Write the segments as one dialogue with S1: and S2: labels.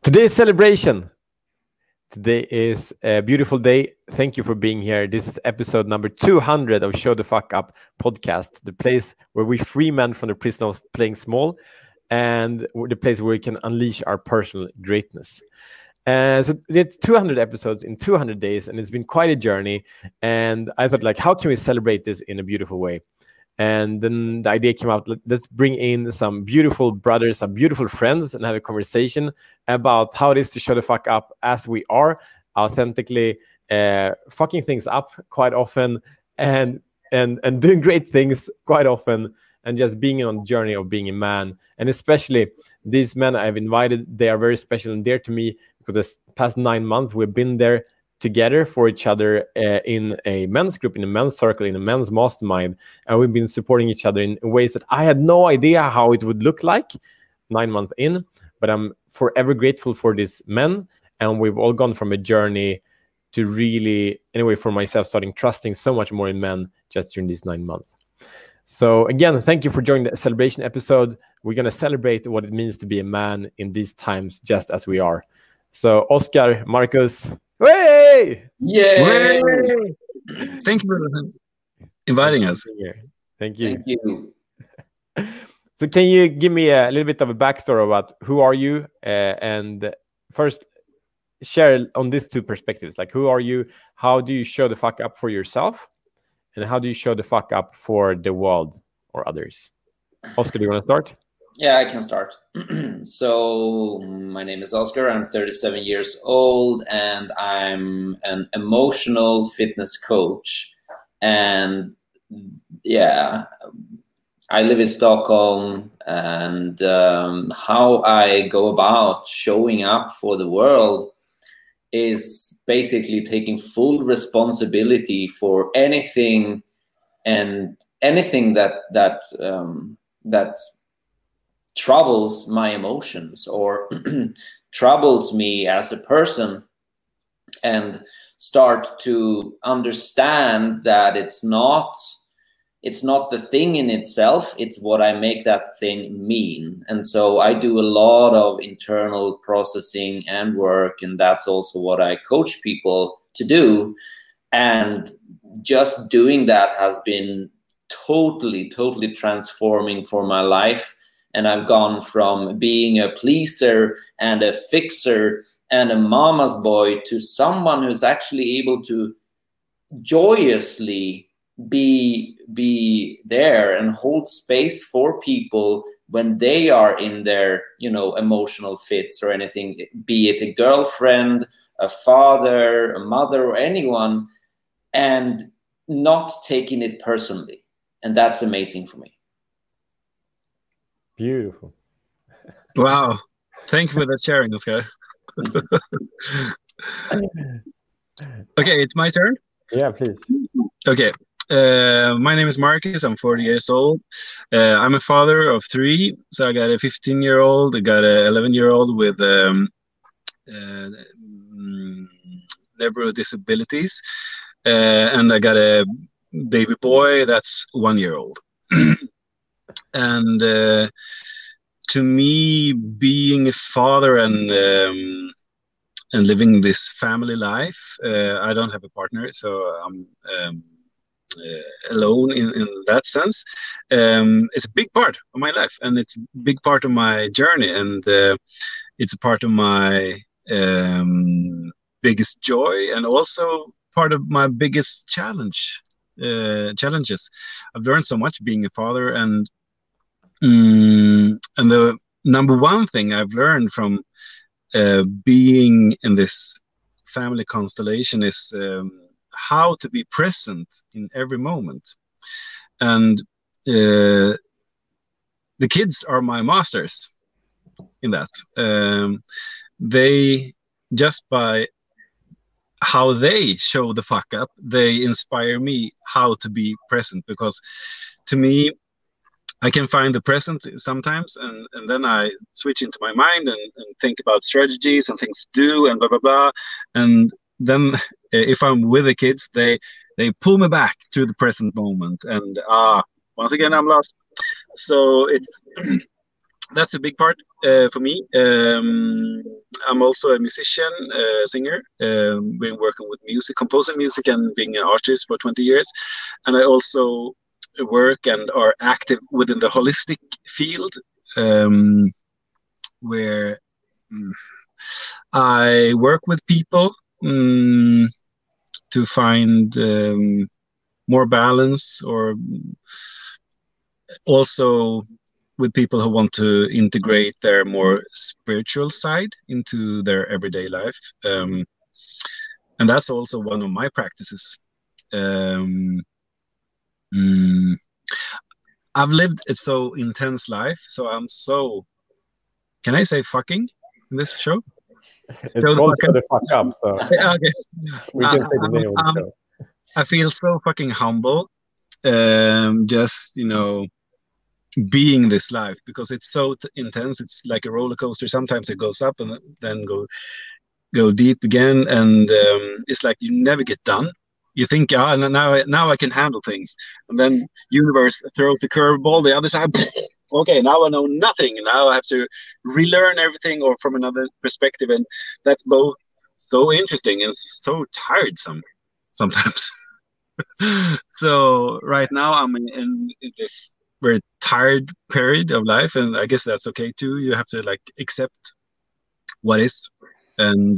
S1: Today's celebration. Today is a beautiful day. Thank you for being here. This is episode number 200 of Show the Fuck Up podcast, the place where we free men from the prison of playing small and the place where we can unleash our personal greatness. So there's 200 episodes in 200 days, and it's been quite a journey. And I thought, like, how can we celebrate this in a beautiful way? And then the idea came out, let's bring in some beautiful brothers, some beautiful friends, and have a conversation about how it is to show the fuck up as we are, authentically fucking things up quite often, and doing great things quite often, and just being on the journey of being a man. And especially these men I've invited, they are very special and dear to me because this past 9 months we've been there together for each other in a men's group, in a men's circle, in a men's mastermind, and we've been supporting each other in ways that I had no idea how it would look like 9 months in, but I'm forever grateful for these men, and we've all gone from a journey to really, anyway, for myself, starting trusting so much more in men just during these 9 months. So again, thank you for joining the celebration episode. We're going to celebrate what it means to be a man in these times, just as we are. So Oscar, Marcus, way!
S2: Yay!
S3: Way! Thank you for inviting us.
S1: Thank you.
S2: Thank you.
S1: So can you give me a little bit of a backstory about who are you? And first, share on these two perspectives. Like, who are you? How do you show the fuck up for yourself? And how do you show the fuck up for the world or others? Oscar, do you want to start?
S2: Yeah, I can start. So my name is Oscar. I'm 37 years old, and I'm an emotional fitness coach. And yeah, I live in Stockholm, and how I go about showing up for the world is basically taking full responsibility for anything that troubles my emotions or troubles me as a person, and start to understand that it's not the thing in itself, it's what I make that thing mean. And so I do a lot of internal processing and work, and that's also what I coach people to do. And just doing that has been totally transforming for my life. And I've gone from being a pleaser and a fixer and a mama's boy to someone who's actually able to joyously be there and hold space for people when they are in their, emotional fits or anything, be it a girlfriend, a father, a mother, or anyone, and not taking it personally. And that's amazing for me.
S1: Beautiful.
S3: Wow. Thank you for that sharing, Oscar. Okay, it's my turn?
S1: Yeah, please.
S3: Okay. My name is Marcus. I'm 40 years old. I'm a father of 3. So I got a 15-year-old, I got an 11-year-old with several disabilities. And I got a baby boy that's 1 year old. And to me, being a father and living this family life, I don't have a partner, so I'm alone in that sense. It's a big part of my life, and it's a big part of my journey, and it's a part of my biggest joy, and also part of my biggest challenges. I've learned so much being a father, and the number one thing I've learned from being in this family constellation is how to be present in every moment. And the kids are my masters in that. They, just by how they show the fuck up, they inspire me how to be present, because to me, I can find the present sometimes, and then I switch into my mind and think about strategies and things to do and blah, blah, blah. And then if I'm with the kids, they pull me back to the present moment. And once again, I'm lost. So that's a big part for me. I'm also a musician, singer. Been working with music, composing music, and being an artist for 20 years. And I also work and are active within the holistic field, where I work with people to find more balance, or also with people who want to integrate their more spiritual side into their everyday life. And that's also one of my practices. I've lived a so intense life, so I'm so, can I say fucking in this show?
S1: It's called Show the Fuck Up, so
S3: Okay.
S1: we can say the name of the show.
S3: I feel so fucking humble, just, being this life, because it's so intense. It's like a roller coaster. Sometimes it goes up and then go deep again, and it's like you never get done. You think, now I can handle things, and then universe throws a curveball the other side. Okay, now I know nothing. Now I have to relearn everything, or from another perspective, and that's both so interesting and so tiresome sometimes. So right now I'm in this very tired period of life, and I guess that's okay too. You have to accept what is, and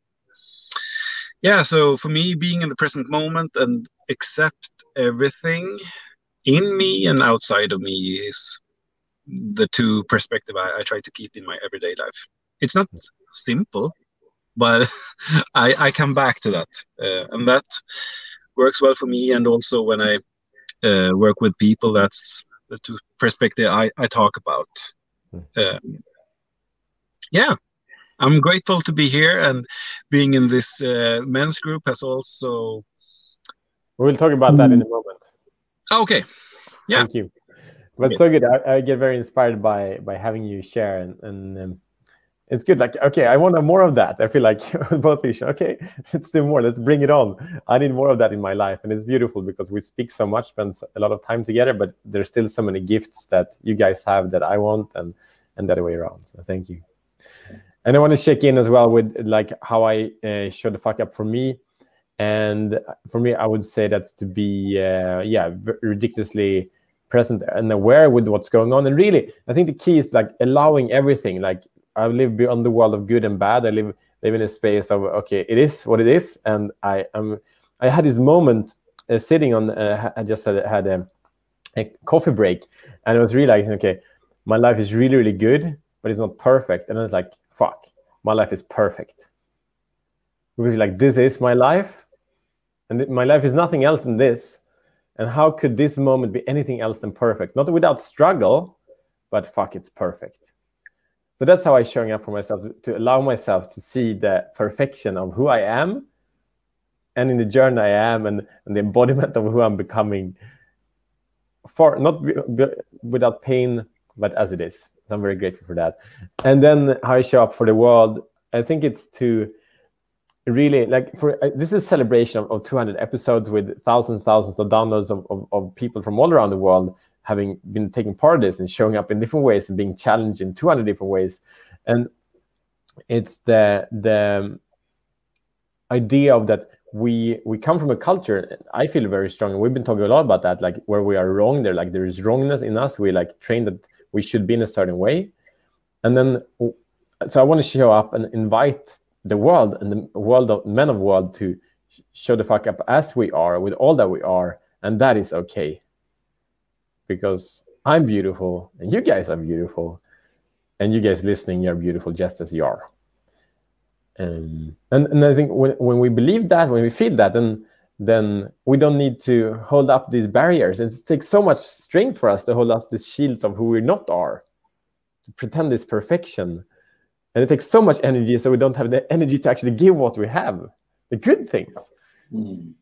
S3: so for me, being in the present moment and accept everything in me and outside of me is the two perspective I try to keep in my everyday life. It's not simple, but I come back to that, and that works well for me. And also when I work with people, that's the two perspective I talk about. I'm grateful to be here, and being in this men's group has also.
S1: We'll talk about that in a moment.
S3: Okay. Yeah.
S1: Thank you. But so good. I get very inspired by having you share, and it's good. Okay, I want more of that. I feel like both of you. Okay, let's do more. Let's bring it on. I need more of that in my life, and it's beautiful because we speak so much, spend a lot of time together, but there's still so many gifts that you guys have that I want, and that way around. So thank you. And I want to check in as well with how I show the fuck up for me. And for me, I would say that's to be ridiculously present and aware with what's going on. And really, I think the key is allowing everything. I live beyond the world of good and bad. I live in a space of, okay, it is what it is. And I had this moment sitting on. I just had a coffee break, and I was realizing, okay, my life is really, really good, but it's not perfect. And I was like, fuck, my life is perfect. Because this is my life, and my life is nothing else than this. And how could this moment be anything else than perfect? Not without struggle, but fuck, it's perfect. So that's how I'm showing up for myself, to allow myself to see the perfection of who I am, and in the journey I am, and the embodiment of who I'm becoming, for not without pain, but as it is. So I'm very grateful for that. And then how I show up for the world, I think it's to really this is a celebration of 200 episodes with thousands of downloads of people from all around the world having been taking part of this and showing up in different ways and being challenged in 200 different ways. And it's the idea of that we come from a culture, I feel very strong, and we've been talking a lot about that, where we are wrong, there is wrongness in us. We trained that we should be in a certain way. And then so I want to show up and invite the world and the world of men of the world to show the fuck up as we are, with all that we are, and that is okay, because I'm beautiful and you guys are beautiful, and you guys listening, you're beautiful just as you are. And I think when we believe that, when we feel that, then we don't need to hold up these barriers. It takes so much strength for us to hold up these shields of who we not are, to pretend this perfection. And it takes so much energy, so we don't have the energy to actually give what we have, the good things. Thank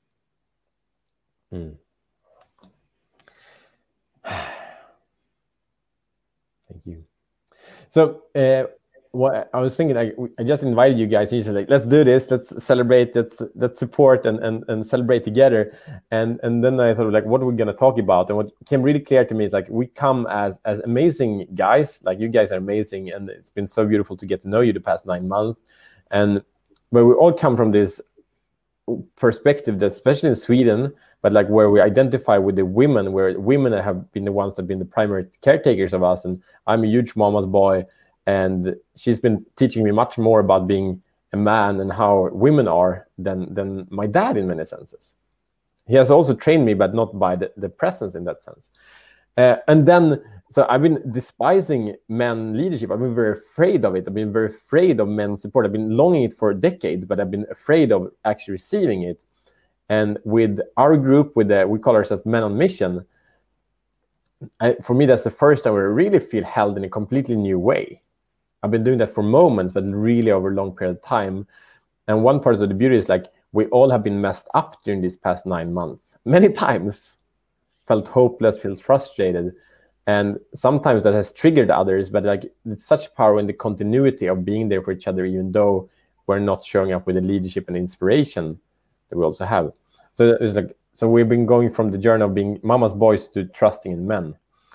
S1: you. So what I was thinking, like, I just invited you guys. And you said, like, let's do this, let's celebrate, let's support and celebrate together. And then I thought, like, what are we gonna talk about? And what became really clear to me is, like, we come as amazing guys. Like, you guys are amazing, and it's been so beautiful to get to know you the past 9 months. And but we all come from this perspective that, especially in Sweden, but like where we identify with the women, where women have been the ones that have been the primary caretakers of us. And I'm a huge mama's boy. And she's been teaching me much more about being a man and how women are than my dad in many senses. He has also trained me, but not by the presence in that sense. And then, so I've been despising men leadership. I've been very afraid of it. I've been very afraid of men's support. I've been longing it for decades, but I've been afraid of actually receiving it. And with our group, we call ourselves Men on Mission, for me, that's the first time where I really feel held in a completely new way. I've been doing that for moments, but really over a long period of time. And one part of the beauty is, like, we all have been messed up during these past 9 months. Many times felt hopeless, felt frustrated. And sometimes that has triggered others, but like, it's such power in the continuity of being there for each other, even though we're not showing up with the leadership and inspiration that we also have. So it's like, so we've been going from the journey of being mama's boys to trusting in men.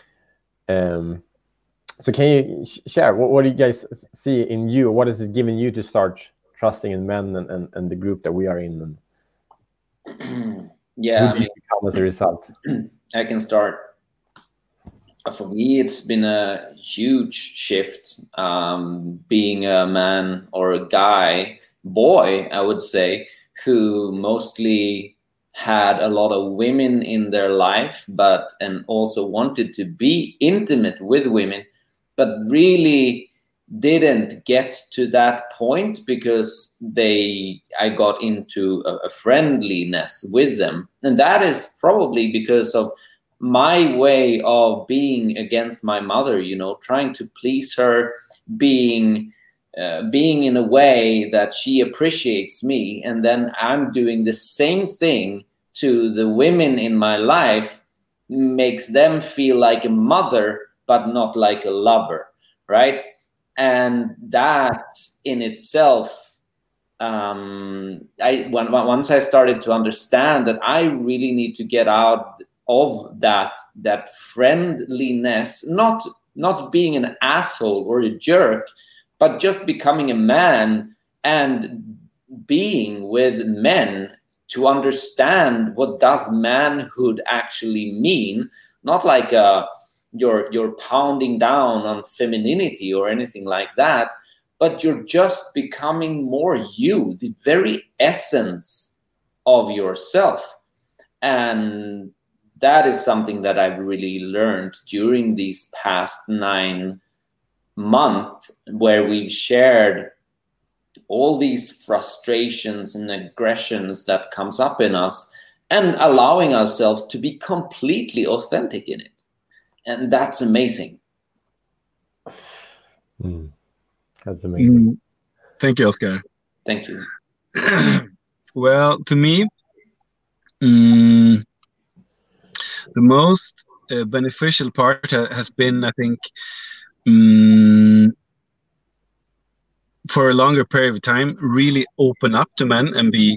S1: So can you share, what do you guys see in you? What has it given you to start trusting in men and the group that we are in?
S2: Yeah,
S1: who do you become as a result?
S2: I can start. For me, it's been a huge shift, being a man or a boy, I would say, who mostly had a lot of women in their life, and also wanted to be intimate with women, but really didn't get to that point because I got into a friendliness with them. And that is probably because of my way of being against my mother, trying to please her, being in a way that she appreciates me. And then I'm doing the same thing to the women in my life, makes them feel like a mother, but not like a lover, right? And that in itself, once I started to understand that I really need to get out of that friendliness, not being an asshole or a jerk, but just becoming a man and being with men to understand what does manhood actually mean, not like you're pounding down on femininity or anything like that, but you're just becoming more you, the very essence of yourself. And that is something that I've really learned during these past 9 months, where we've shared all these frustrations and aggressions that comes up in us, and allowing ourselves to be completely authentic in it. And that's amazing.
S1: That's amazing.
S3: Thank you, Oscar.
S2: Thank you.
S3: Well, to me, the most beneficial part has been, I think, for a longer period of time, really open up to men and be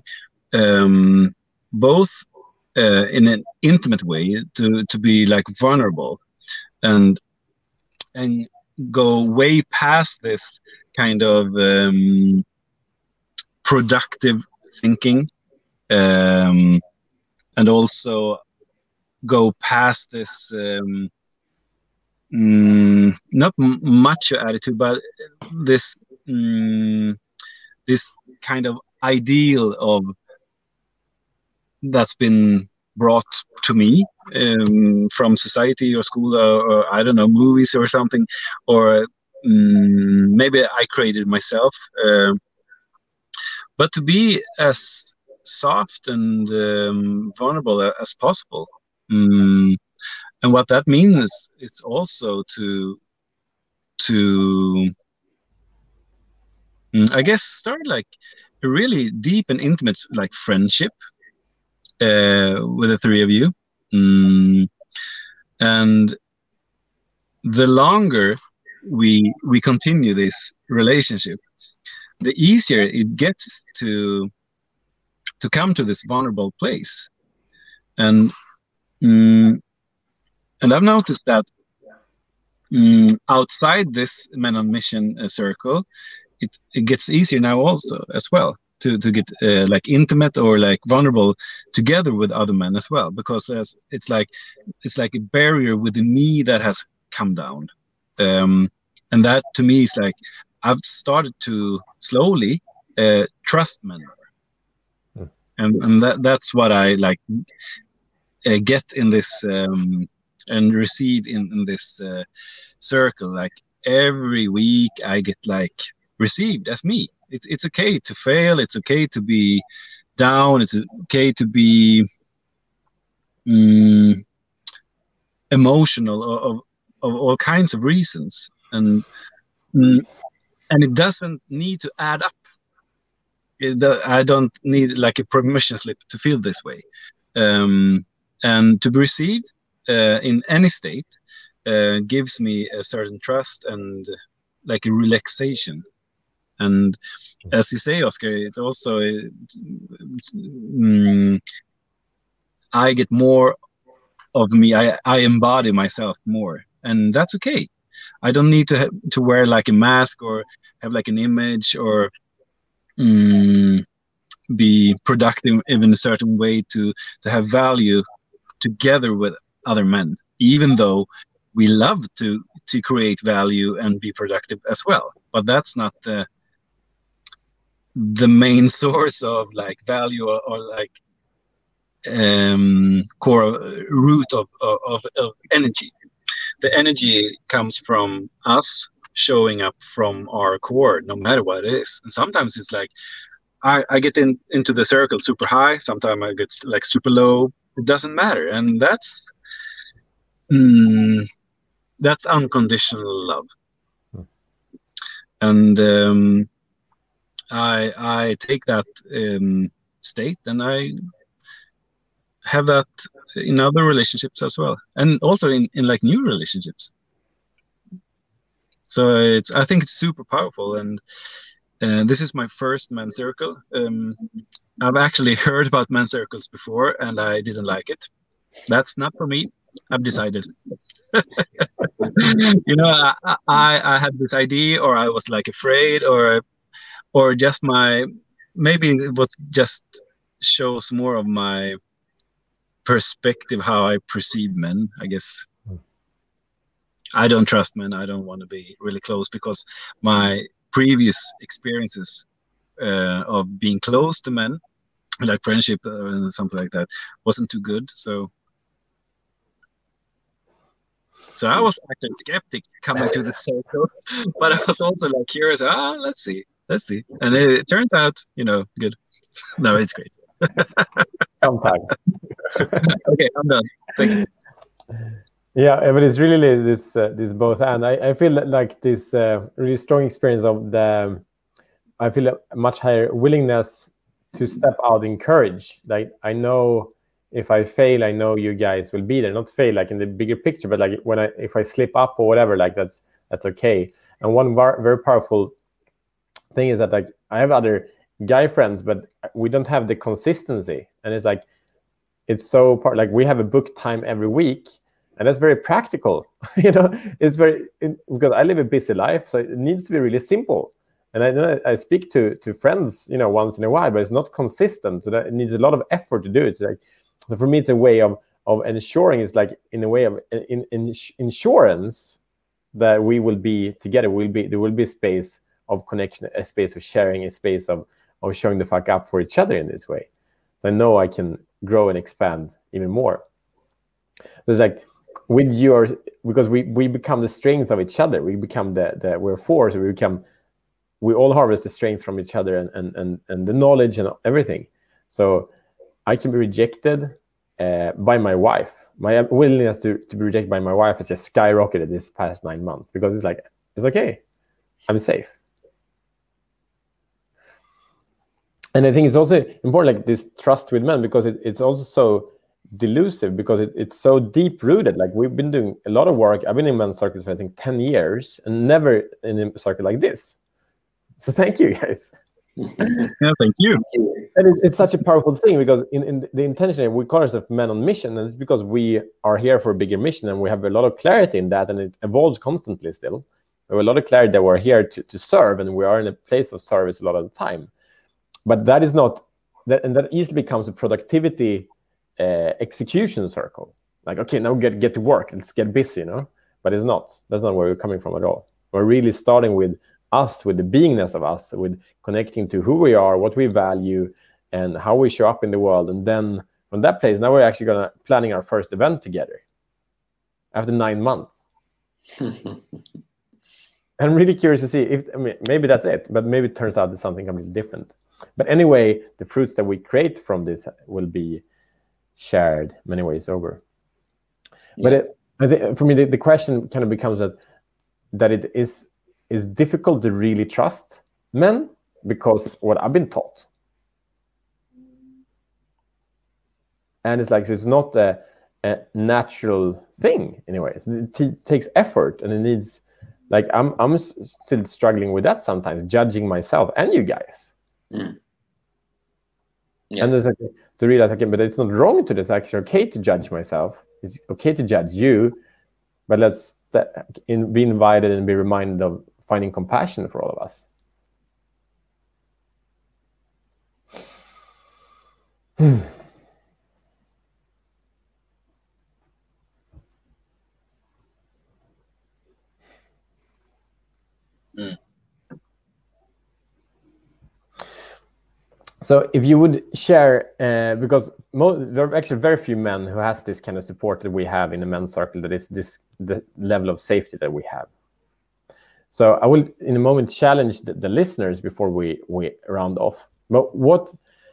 S3: both in an intimate way, to be like vulnerable and go way past this kind of productive thinking, and also go past this not macho attitude, but this this kind of ideal of that's been brought to me from society or school, or I don't know, movies or something, or maybe I created myself. But to be as soft and vulnerable as possible. And what that means is also to I guess start like a really deep and intimate like friendship with the three of you. And the longer we continue this relationship, the easier it gets to come to this vulnerable place. And I've noticed that outside this Men on Mission circle, it gets easier now also as well to get like intimate or like vulnerable together with other men as well, because it's like a barrier within me that has come down, and that to me is like I've started to slowly trust men more. And that's what I like get in this and receive in this circle. Like every week I get like received as me. It's okay to fail. It's okay to be down. It's okay to be emotional of all kinds of reasons, and it doesn't need to add up. I don't need like a permission slip to feel this way, and to be received in any state gives me a certain trust and like a relaxation. And as you say, Oscar, it also I get more of me. I embody myself more, and that's okay. I don't need to wear like a mask or have like an image or be productive in a certain way to have value together with other men, even though we love to create value and be productive as well. But that's not the main source of like value or like core root of energy. The energy comes from us showing up from our core, no matter what it is. And sometimes it's like I get into the circle super high, sometimes I get like super low. It doesn't matter, and that's unconditional love. And I take that state, and I have that in other relationships as well, and also in like new relationships. So I think it's super powerful, and this is my first men's circle. I've actually heard about men's circles before, and I didn't like it. That's not for me. I've decided. You know, I had this idea, or I was like afraid, or just maybe it was just shows more of my perspective, how I perceive men, I guess. I don't trust men. I don't want to be really close, because my previous experiences of being close to men, like friendship and something like that, wasn't too good. So I was actually skeptic coming to the circle, but I was also like curious. Let's see, and it turns out, good. No, it's great.
S1: Sometimes.
S3: Okay, I'm done. Thank you.
S1: Yeah, but it's really this both, and I feel like this really strong experience of I feel a much higher willingness to step out in courage. Like I know if I fail, I know you guys will be there. Not fail like in the bigger picture, but like if I slip up or whatever, like that's okay. And one very powerful thing is that like I have other guy friends, but we don't have the consistency, and it's like it's so like we have a book time every week. And that's very practical, it's because I live a busy life, so it needs to be really simple. And I speak to friends, once in a while, but it's not consistent. So that it needs a lot of effort to do it. So for me, it's a way of ensuring, it's like in a way of insurance that we will be together. There will be a space of connection, a space of sharing, a space of showing the fuck up for each other in this way. So I know I can grow and expand even more. There's like, because we become the strength of each other. We become we're force. We all harvest the strength from each other and the knowledge and everything. So I can be rejected by my wife. My willingness to be rejected by my wife has just skyrocketed this past 9 months, because it's like, it's okay. I'm safe. And I think it's also important, like this trust with men, because it's also so delusive because it's so deep rooted. Like we've been doing a lot of work. I've been in men's circles for I think 10 years and never in a circle like this. So thank you guys.
S3: Yeah, thank you.
S1: And it's such a powerful thing because in the intention, we call ourselves men on mission, and it's because we are here for a bigger mission and we have a lot of clarity in that, and it evolves constantly still. We have a lot of clarity that we're here to serve, and we are in a place of service a lot of the time. But that is not, and that easily becomes a productivity execution circle. Like, okay, now get to work, let's get busy, But it's not. That's not where we're coming from at all. We're really starting with us, with the beingness of us, with connecting to who we are, what we value, and how we show up in the world. And then from that place, now we're actually planning our first event together after 9 months. I'm really curious to see maybe that's it, but maybe it turns out it's something completely different. But anyway, the fruits that we create from this will be shared many ways over. Yeah. But I think for me, the question kind of becomes that it is difficult to really trust men because what I've been taught. And it's like, it's not a natural thing anyways. It takes effort, and it needs, like, I'm still struggling with that sometimes, judging myself and you guys. Mm. Yeah. And there's like to realize, okay, but it's not wrong to do. It's actually okay to judge myself. It's okay to judge you, but let's be invited and be reminded of finding compassion for all of us. So if you would share, because there are actually very few men who has this kind of support that we have in the men's circle, that is the level of safety that we have. So I will in a moment challenge the listeners before we round off. But what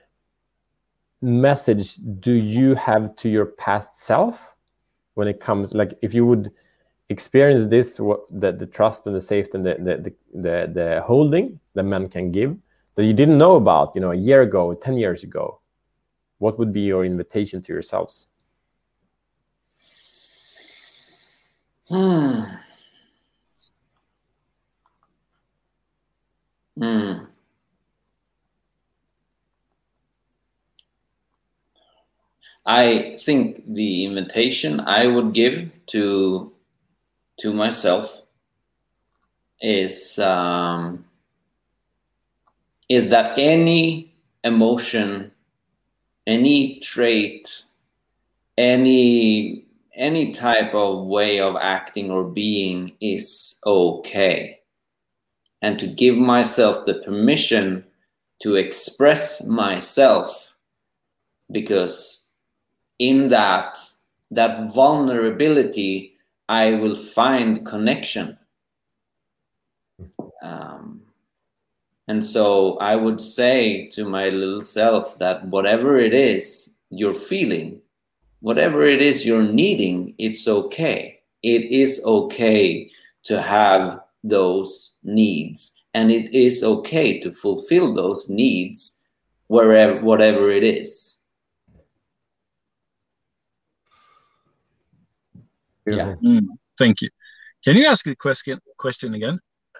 S1: message do you have to your past self when it comes, like, if you would experience this, the trust and the safety and the holding that men can give that you didn't know about, a year ago, 10 years ago, what would be your invitation to yourselves?
S2: I think the invitation I would give to myself is that any emotion, any trait, any type of way of acting or being is okay. And to give myself the permission to express myself, because in that vulnerability, I will find connection. And so I would say to my little self that whatever it is you're feeling, whatever it is you're needing, it's okay. It is okay to have those needs. And it is okay to fulfill those needs whatever it is.
S3: Yeah. Thank you. Can you ask the question again?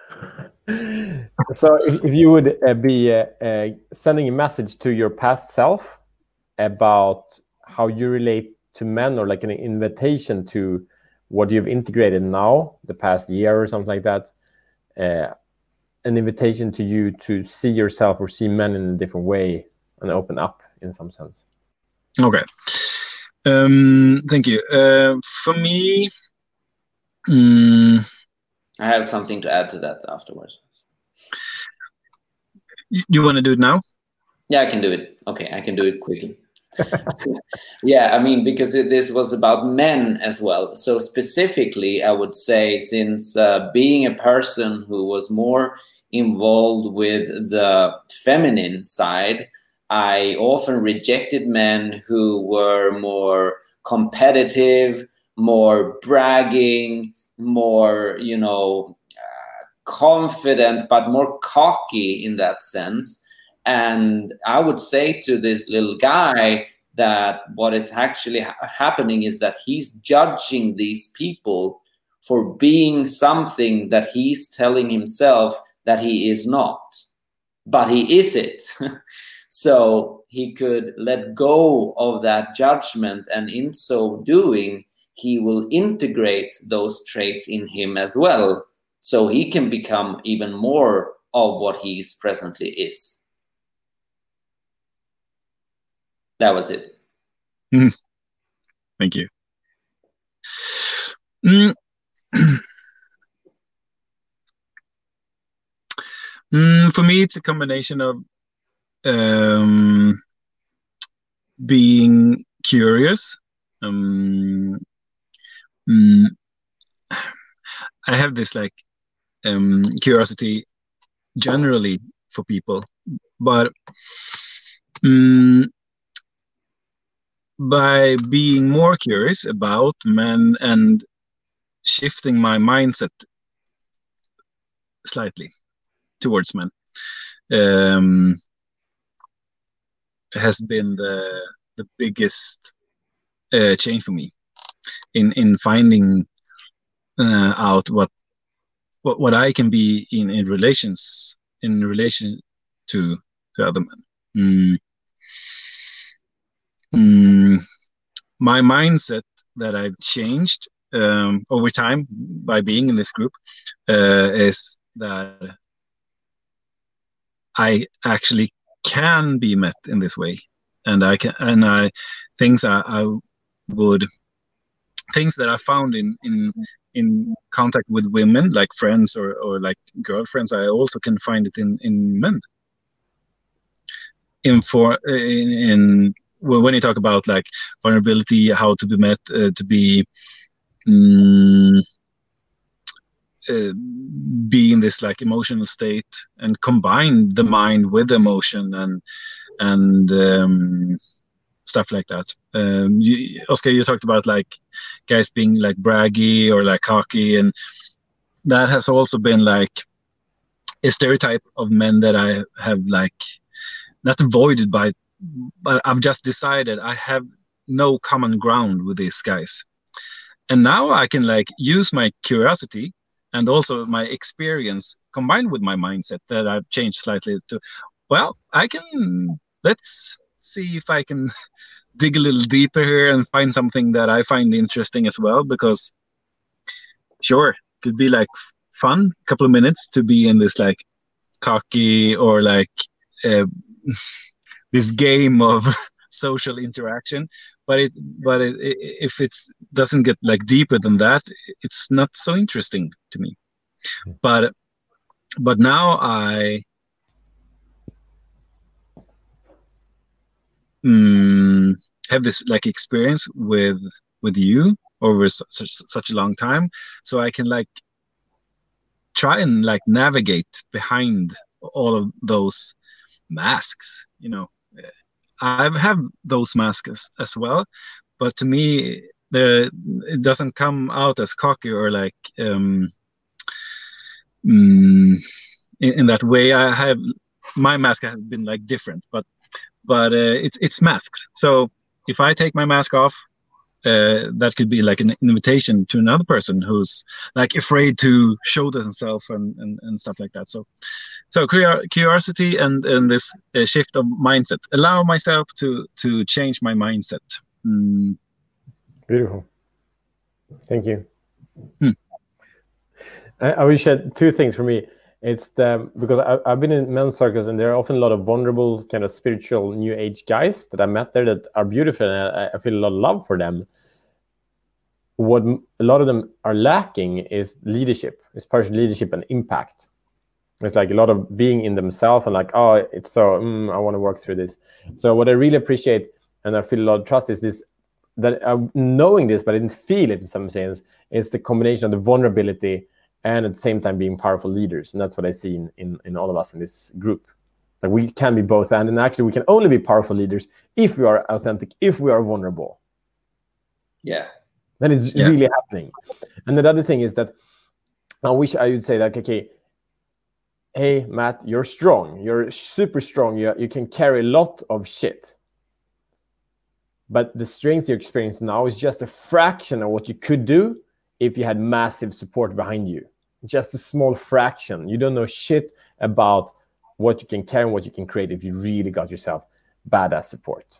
S1: So if you would be sending a message to your past self about how you relate to men, or like an invitation to what you've integrated now, the past year or something like that, an invitation to you to see yourself or see men in a different way and open up in some sense.
S3: Okay. Thank you. For me,
S2: I have something to add to that afterwards.
S3: You want to do it now?
S2: Yeah, I can do it. Okay, I can do it quickly. Yeah, I mean, because this was about men as well. So specifically, I would say, since being a person who was more involved with the feminine side, I often rejected men who were more competitive, more bragging, more, confident, but more cocky in that sense. And I would say to this little guy, that what is actually happening is that he's judging these people for being something that he's telling himself that he is not, but he is it. So he could let go of that judgment, and in so doing, he will integrate those traits in him as well, so he can become even more of what he presently is. That was it.
S3: Thank you. For me, it's a combination of being curious. I have this like curiosity generally for people, but by being more curious about men and shifting my mindset slightly towards men has been the biggest change for me in finding out what I can be in relation to other men. My mindset that I've changed over time by being in this group is that I actually can be met in this way, and things that I found in contact with women, like friends or like girlfriends, I also can find it in men. When you talk about like vulnerability, how to be met, to be in this like emotional state, and combine the mind with emotion and stuff like that. Oscar, you talked about like guys being like braggy or like cocky, and that has also been like a stereotype of men that I have like not avoided but I've just decided I have no common ground with these guys. And now I can like use my curiosity and also my experience combined with my mindset that I've changed slightly to, well, let's see if I can dig a little deeper here and find something that I find interesting as well, because sure, it could be like fun, a couple of minutes to be in this like cocky or like this game of social interaction, but if it doesn't get like deeper than that, it's not so interesting to me. But now I have this like experience with you over such a long time, so I can like try and like navigate behind all of those masks. You know, I have those masks as well, but to me, it doesn't come out as cocky or like in that way. I have my mask has been like different, but it's masks. So if I take my mask off, that could be like an invitation to another person who's like afraid to show themselves and stuff like that. So curiosity and this shift of mindset, allow myself to change my mindset.
S1: Beautiful. Thank you. I will share two things for me. It's because I've been in men's circles, and there are often a lot of vulnerable, kind of spiritual new age guys that I met there that are beautiful, and I feel a lot of love for them. What a lot of them are lacking is leadership. It's partially leadership and impact. It's like a lot of being in themselves and like, oh, it's so, I want to work through this. So what I really appreciate, and I feel a lot of trust, is this, that knowing this, but I didn't feel it in some sense, is the combination of the vulnerability and at the same time being powerful leaders. And that's what I see in all of us in this group. Like we can be both, and actually we can only be powerful leaders if we are authentic, if we are vulnerable.
S2: Yeah.
S1: Then it's really happening. And the other thing is that I wish I would say that, okay, hey, Matt, you're strong. You're super strong. You can carry a lot of shit. But the strength you're experiencing now is just a fraction of what you could do if you had massive support behind you. Just a small fraction. You don't know shit about what you can carry and what you can create if you really got yourself badass support.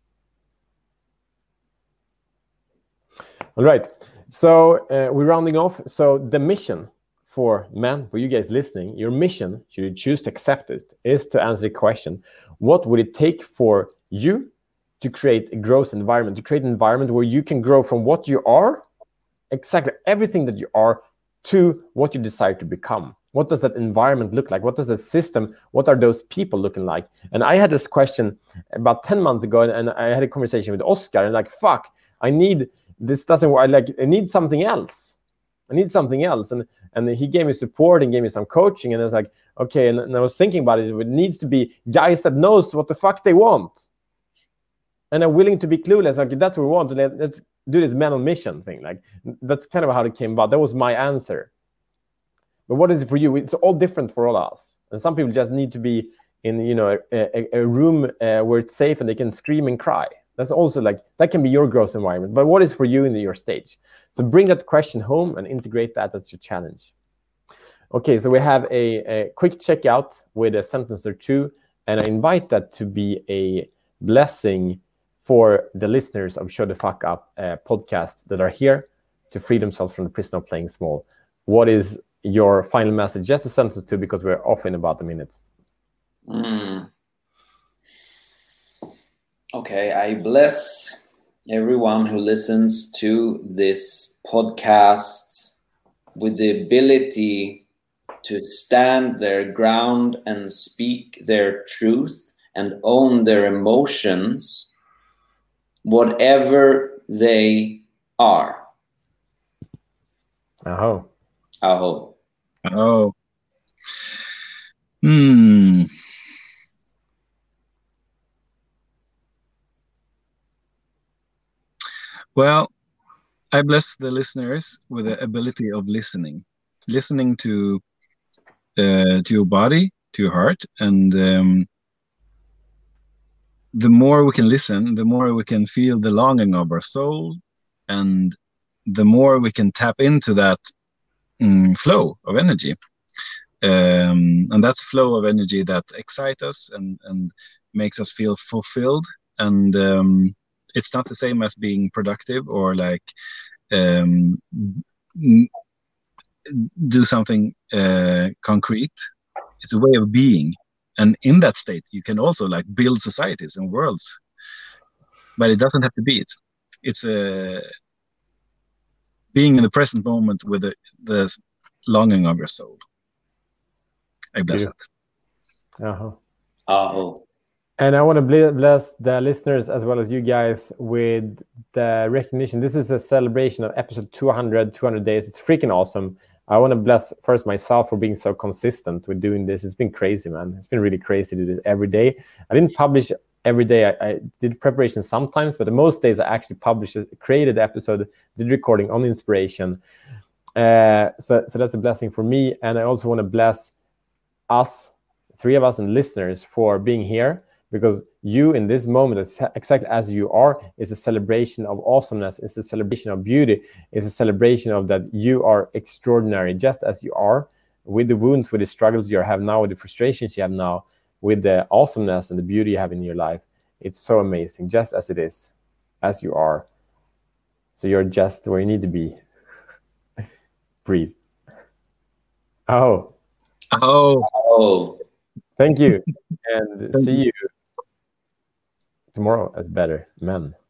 S1: All right. So we're rounding off. So the mission for you guys listening, your mission, should you choose to accept it, is to answer the question, what would it take for you to create a growth environment, to create an environment where you can grow from what you are, exactly everything that you are, to what you desire to become? What does that environment look like? What does the system, what are those people looking like? And I had this question about 10 months ago, and I had a conversation with Oscar, and like, fuck, this doesn't work. I need something else. And he gave me support and gave me some coaching, and I was like, okay, and I was thinking about it. It needs to be guys that knows what the fuck they want and are willing to be clueless. Okay, that's what we want. Let's do this man on mission thing. Like, that's kind of how it came about. That was my answer. But what is it for you? It's all different for all of us. And some people just need to be in, a room where it's safe and they can scream and cry. That's also that can be your growth environment. But what is for you in your stage? So bring that question home and integrate that as your challenge. Okay, so we have a quick checkout with a sentence or two, and I invite that to be a blessing for the listeners of Show the Fuck Up podcast that are here to free themselves from the prison of playing small. What is your final message? Just a sentence or two, because we're off in about a minute.
S2: Okay, I bless everyone who listens to this podcast with the ability to stand their ground and speak their truth and own their emotions, whatever they are.
S1: Aho.
S2: Aho.
S3: Oh. Well, I bless the listeners with the ability of listening to your body, to your heart, and the more we can listen, the more we can feel the longing of our soul, and the more we can tap into that flow of energy. And that's flow of energy that excites us and makes us feel fulfilled. And it's not the same as being productive or do something concrete. It's a way of being. And in that state, you can also build societies and worlds. But it doesn't have to be it. It's being in the present moment with the longing of your soul. I bless it.
S2: Aho.
S1: And I want to bless the listeners as well as you guys with the recognition. This is a celebration of episode 200 days. It's freaking awesome. I want to bless first myself for being so consistent with doing this. It's been crazy, man. It's been really crazy to do this every day. I didn't publish every day. I did preparation sometimes, but most days I actually published, created the episode, did recording on inspiration. So that's a blessing for me. And I also want to bless us, three of us and listeners, for being here, because you in this moment, exactly as you are, is a celebration of awesomeness. It's a celebration of beauty. It's a celebration of that you are extraordinary, just as you are, with the wounds, with the struggles you have now, with the frustrations you have now, with the awesomeness and the beauty you have in your life. It's so amazing, just as it is, as you are. So you're just where you need to be. Breathe. Oh. Thank you. And see you tomorrow as better men.